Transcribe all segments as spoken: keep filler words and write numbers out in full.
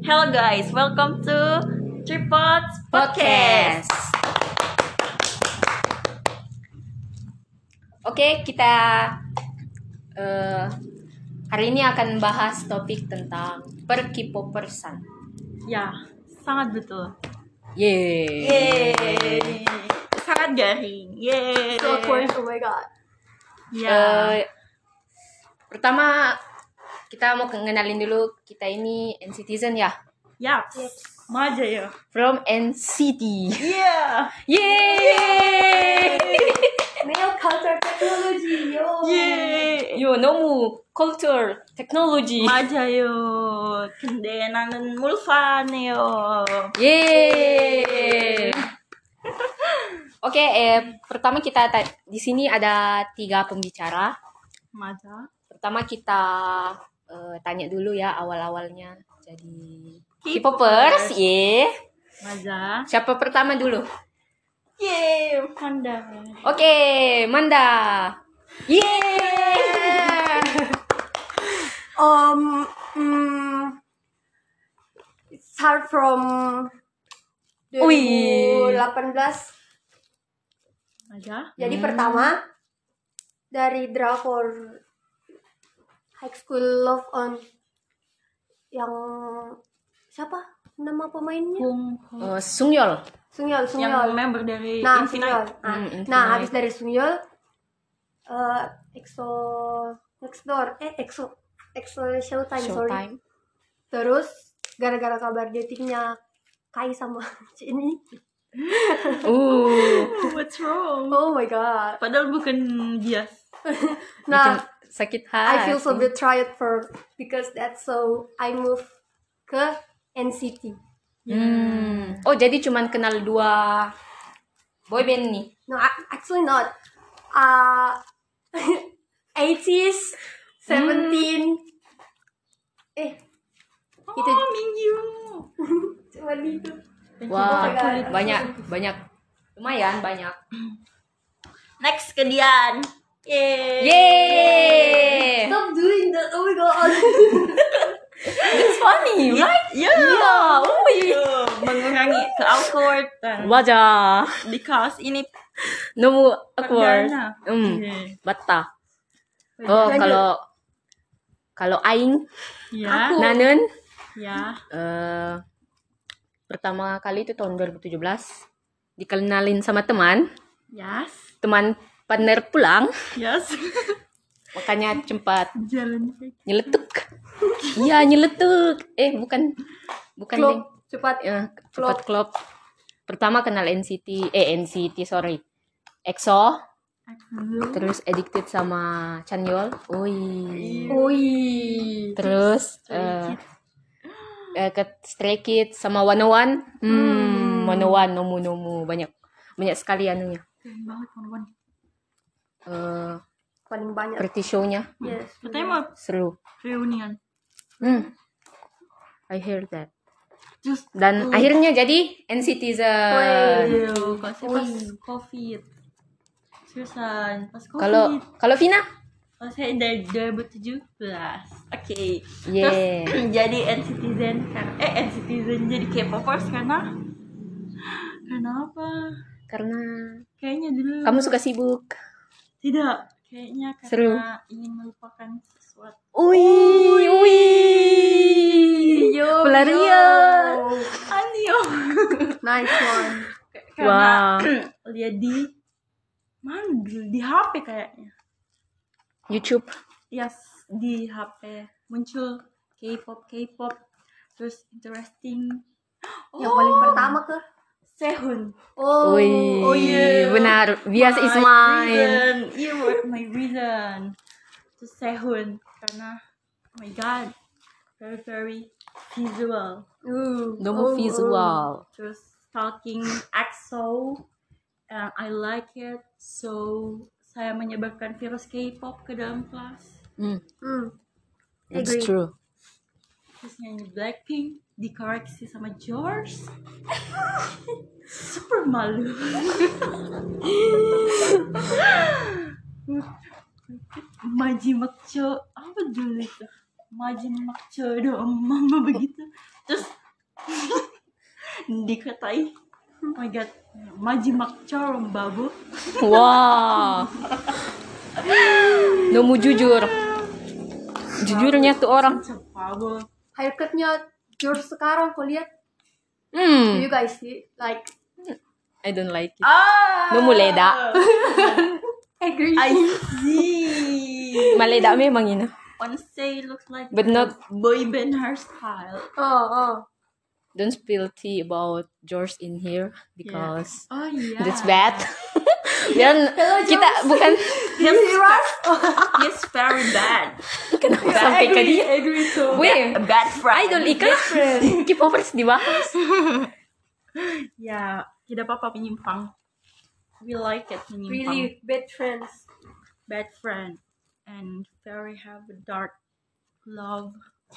Hello guys, welcome to Tripods Podcast. Oke, kita uh, hari ini akan bahas topik tentang per K-popersan. Ya, sangat betul. Yeay. Yeay. Sangat garing. Yeay. So awkward, oh my god. Ya. Uh, pertama kita mau kenalin dulu, kita ini N-Citizen ya. Yap. Maja ya. From N C T. Yeah. Yeay. Male culture technology, yo. Yeay. Yo, 너무 culture technology. 맞아요. 근데 나는 물판이에요. Yeay. Oke, eh, pertama kita ta- di sini ada tiga pembicara. 맞아. Pertama kita eh, tanya dulu ya awal-awalnya jadi K-popers. K-popers, ye. 맞아. Siapa pertama dulu? Yeay, panda. Oke, Manda. Yeay. Um, mm, start from Wih. dua ribu delapan belas. 맞아. Jadi Hmm. pertama dari drakor High School Love on yang siapa nama pemainnya? Hong Hong. Eh, Sungyol. Sungyol, Yang Sungyol. member dari Nah, Infinite. Sungyol. Nah, Hmm, Infinite. nah, habis dari Sungyol, eh EXO Next Door, eh EXO EXO Showtime, sorry. Showtime. Terus gara-gara kabar datingnya Kai sama ini. Uh, What's wrong? Oh my god. Padahal bukan dia. Nah, bikin sakit hati. I feel so betrayed for because that's so I move ke N C T. Hmm. Oh, jadi cuman kenal dua boyband nih. No, a- actually not. Uh, eighties, seventeen. Eh, itu Oh, Mingyu. cuma itu. Wah, God. banyak banyak lumayan banyak. Next ke Dian. Yeay. Yeay. Stop doing that. Oh my god. It's funny, right? Ya. Yeah. Oh, Tuh, mengurangi ke awkward dan 맞아. di kaos ini 너무 awkward. perdana. Hmm, Iya. 맞다. Oh, Lanjut. kalau kalau aing Ya. Aku. nanen Ya. eh pertama kali itu tahun dua ribu tujuh belas dikenalin sama teman, Yes. teman partner pulang, Yes. makanya cepat Jalan. nyeletuk. Iya, nyeletuk. Eh, bukan bukan Klop, Ding. cepat. Ya, cepat klop. Pertama kenal N C T, eh N C T sorry. EXO, terus addicted sama Chanyeol. Oi. Ui. Terus eh eh, ke Stray Kids sama one oh one. Hmm, one oh one nomu nomu banyak banyak sekali anunya. Keren banget kawan-kawan. Eh, Paling banyak. pretty show-nya Yes. Katanya mau seru. reunian. Hmm. I hear that. Just Dan akhirnya jadi N-Citizen. Aduh, kasih pas Ui. COVID. Seriusan, pas COVID. Kalau kalau Vina? Pas saya dari dua ribu tujuh belas. Oke. Yeah. Terus jadi N-Citizen karena eh N-Citizen jadi K-popers karena karena apa? Karena Kayaknya dulu kamu suka sibuk. tidak, kayaknya karena Seru. ingin melupakan sesuatu. Ui, ui. Yo, Pelarian. yo. Anio. Nice one. Karena Wah. lihat di mana dulu di H P kayaknya. YouTube. Yes, di H P muncul K-pop, K-pop, terus interesting. Yang paling pertama ke Sehun. Oh, Ui, oh yeah. benar. Bias is My mine. reason. You were my reason. Terus Sehun karena oh my god, very very visual. Uh, Nomu oh, visual. Terus stalking EXO, and I like it. So saya menyebarkan virus K-pop ke dalam kelas. Hmm, oh. Hmm. it's Agree. true. Terus nyanyi Blackpink dikoreksi sama George. Super malu. Maji Makcho apa dulu itu? majimak jodoh mama begitu. Terus dikatai, oh my god, majimak corom babu. Wah. Nomu jujur. Jujurnya tuh orang. Babu. Haircutnya George sekarang kau lihat. Do Hmm. you guys see like I don't like it. Ah. Nomu leda. agree? I see. Maleda memang ini. Honestly, looks like But a not- boy band hairstyle. Oh oh. Don't spill tea about George in here because Oh yeah. that's bad. Dan kita bukan Yes, yes, very bad. kenapa sampai ke dia. Agree too. Weh, A bad friend. idol ikan K-popers dibahas. Ya, tidak apa-apa menyimpang. We like it menyimpang. Really bad friends. Bad friend and very have a dark love.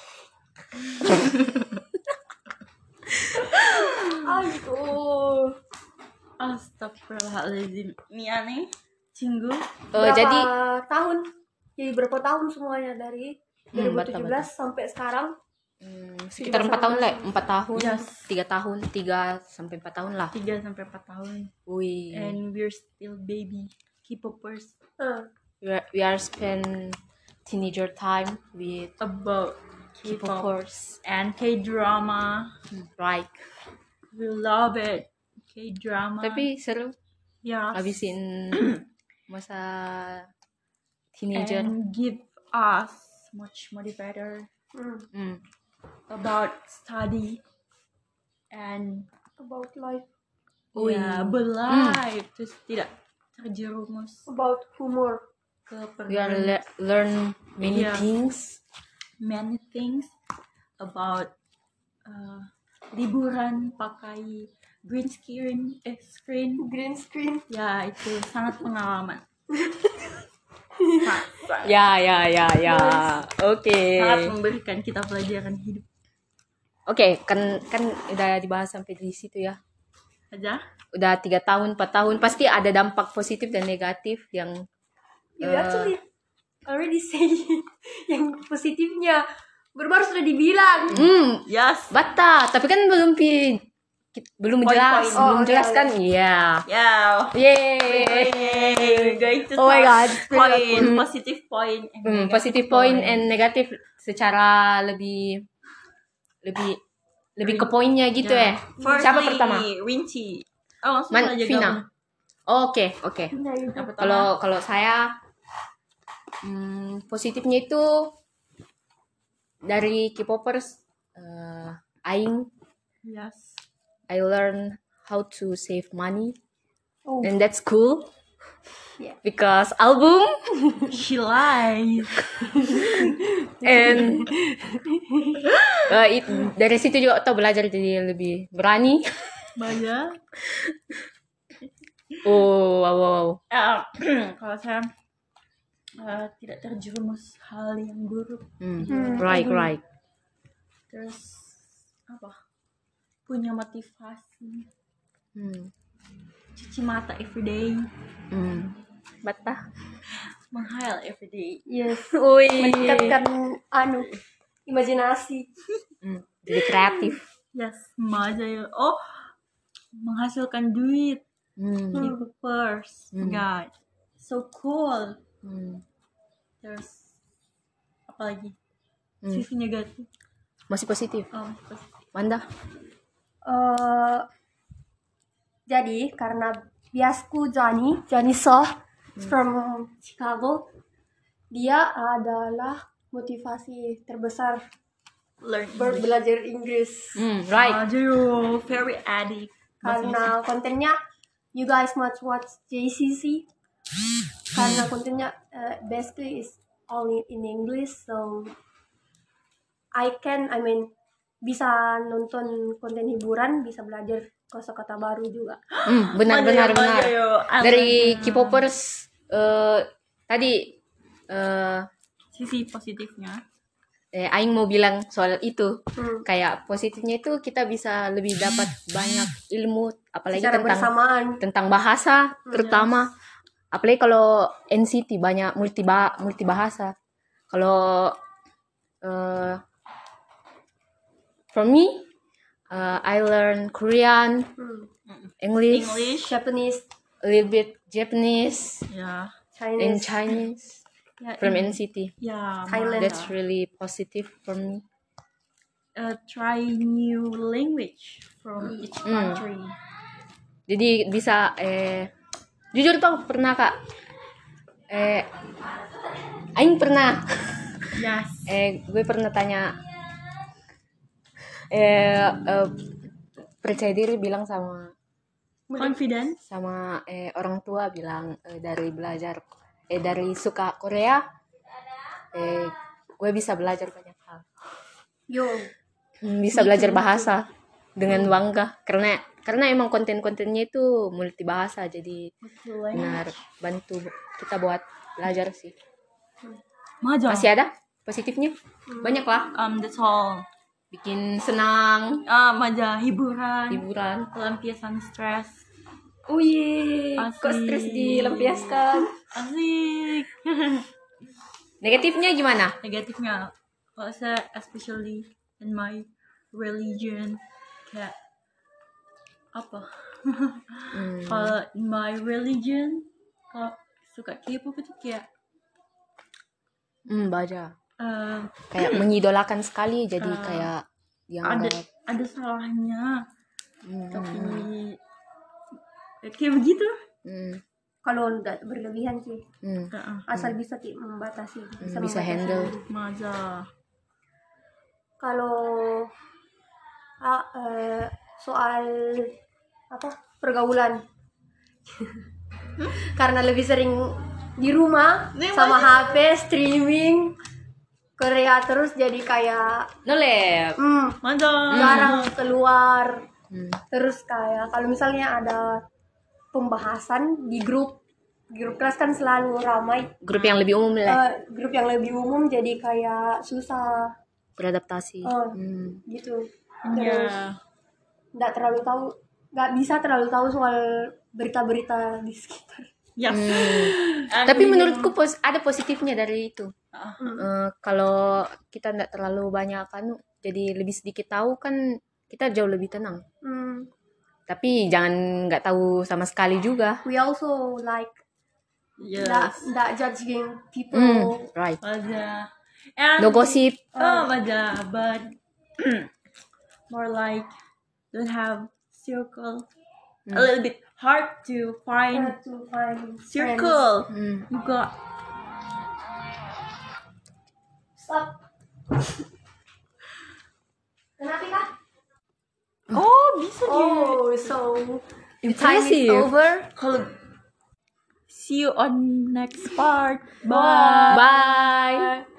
Aduh. Astagfirullahaladzim. Mia nih, Cinggu. Eh, Berapa jadi tahun? Jadi berapa tahun semuanya dari Hmm, dua ribu tujuh belas sampai sekarang? hmm, sekitar empat tahun lah, empat tahun, Yes. tiga tahun, tiga sampai empat tahun lah. tiga sampai empat tahun. Wih, And we're still baby K-popers. Eh, we are, we are spend teenager time with About K-pop K-popers, and K-drama. right? We love it. K-drama. Tapi seru, ya, habisin masa teenager. and give us much motivator hmm, Hmm. about study and about life, Ui. ya berlife, terus tidak terjerumus about humor. ke We are pergaulan. le- learn many Yeah. things. Many things about uh, liburan pakai green screen eh screen, Green screen. ya itu sangat pengalaman. Sa- sa- Ya, ya, ya, ya. Oke. sangat memberikan kita pelajaran hidup Oke, kan kan udah dibahas sampai di situ ya. aja. Udah tiga tahun, empat tahun, pasti ada dampak positif dan negatif yang You Eh. actually already say yang positifnya. Baru-baru sudah dibilang. hmm Yes. bata, tapi kan belum pi ki- belum Poin-poin. jelas, Oh, belum iya, jelas iya. kan? Iya. Yeah. Yeay. We're going to Oh my talk God. point, Hmm. positive point, and Hmm, negative positif point and negatif secara lebih lebih lebih ke poinnya gitu ya. Firstly, Siapa pertama? Rinci. Oh, langsung Man, aja Vina. gabung. Oke, oke. Nah, itu. Yang pertama. Kalau kalau saya hmm, positifnya itu dari K-popers eh, aing Yes. I learn how to save money Oh. and that's cool. Yeah. Because album She lies. and eh, it- dari situ juga Otto belajar jadi lebih berani. Banyak. Oh, wow, wow. Eh, kalau saya eh, tidak terjerumus hal yang buruk. Hmm, Hmm. right, right. Terus apa? Punya motivasi. Hmm. Cuci mata everyday. Hmm. Bata. Menghayal everyday. Yes. Ui. Meningkatkan anu imajinasi. Hmm, jadi kreatif. Yes, aja ya. Oh, menghasilkan duit. Hmm. Jadi first, Hmm. guys. So cool. Hmm. Terus apa lagi? Hmm. Sisi negatif. Masih positif. Oh, masih positif. Manda. Eh, jadi karena biasku Johnny, Johnny Soh from Chicago, dia adalah motivasi terbesar Learn ber- English. belajar Inggris. Hmm, right. Aduh, very addict. Karena kontennya you guys must watch J C C. Karena kontennya uh, basically is only in English, so I can, I mean, bisa nonton konten hiburan, bisa belajar kosakata baru juga. Hmm, benar, benar, benar. Dari K-popers eh tadi eh Sisi positifnya. eh aing mau bilang soal itu. Hmm. Kayak positifnya itu kita bisa lebih dapat banyak ilmu apalagi Secara tentang bersamaan. tentang bahasa terutama apalagi kalau N C T banyak multi multi bahasa. Kalau uh, for me, uh, I learn Korean, Hmm. English, English. Japanese, a little bit Japanese, Yeah. Chinese. and Chinese Yeah. from in- N C T. Yeah. Thailand. That's really positive for me. Uh, try new language from each Mm. country. Jadi bisa eh jujur tuh pernah Kak. Eh aing pernah Yes. eh gue pernah tanya eh, eh percaya diri bilang sama Confidence. sama eh orang tua bilang eh, dari belajar eh dari suka Korea eh gue bisa belajar banyak hal. Yo. Hmm, bisa belajar bahasa dengan bangga karena karena emang konten-kontennya itu multibahasa jadi benar bantu kita buat belajar sih. Maja. Masih ada positifnya? Banyak lah. Um, that's all. Bikin senang, Ah, maja hiburan. hiburan. Pelampiasan stres. Oh iya, kok Asik. stres dilampiaskan. Asik. Negatifnya gimana? Negatifnya, kalau saya especially in my religion, kayak apa? Hmm. Kalau in my religion, kalau suka K-pop itu kayak Hmm, baca. eh, Kayak mengidolakan sekali jadi Ah. kayak yang ada enggak. ada salahnya, Hmm. tapi kayak begitu. Hmm. Kalau nggak berlebihan sih, Hmm. Heeh. asal bisa ti- membatasi, Hmm, bisa, bisa membatasi handle. diri. Maja. Kalau ah, eh, soal apa pergaulan, karena lebih sering di rumah Nih, sama H P streaming Korea terus, jadi kayak Nolep. hmm, Maja. jarang keluar. Hmm. Terus kayak kalau misalnya ada pembahasan di grup di grup kelas kan selalu ramai, Grup yang lebih umum lah. eh, grup yang lebih umum jadi kayak susah Beradaptasi. Oh. Hmm. gitu. Terus Ya. nggak terlalu tahu, nggak bisa terlalu tahu soal berita-berita di sekitar. Yes. Hmm. And Tapi we menurutku pos- ada positifnya dari itu. Ah. Eh, kalau kita nggak terlalu banyak kan, jadi lebih sedikit tahu kan kita jauh lebih tenang. Hmm. Tapi jangan nggak tahu sama sekali juga. We also like Yes. nggak nggak judging people. Hmm, right. Maja. And No gossip. Oh, Maja, but more like don't have circle. A little bit hard to find Hard to find friends. circle. Hmm. You got Stop. Kenapa kah? oh bisa dia. Oh, so time is Impressive. over. Kalau see you on next part. Bye. Bye.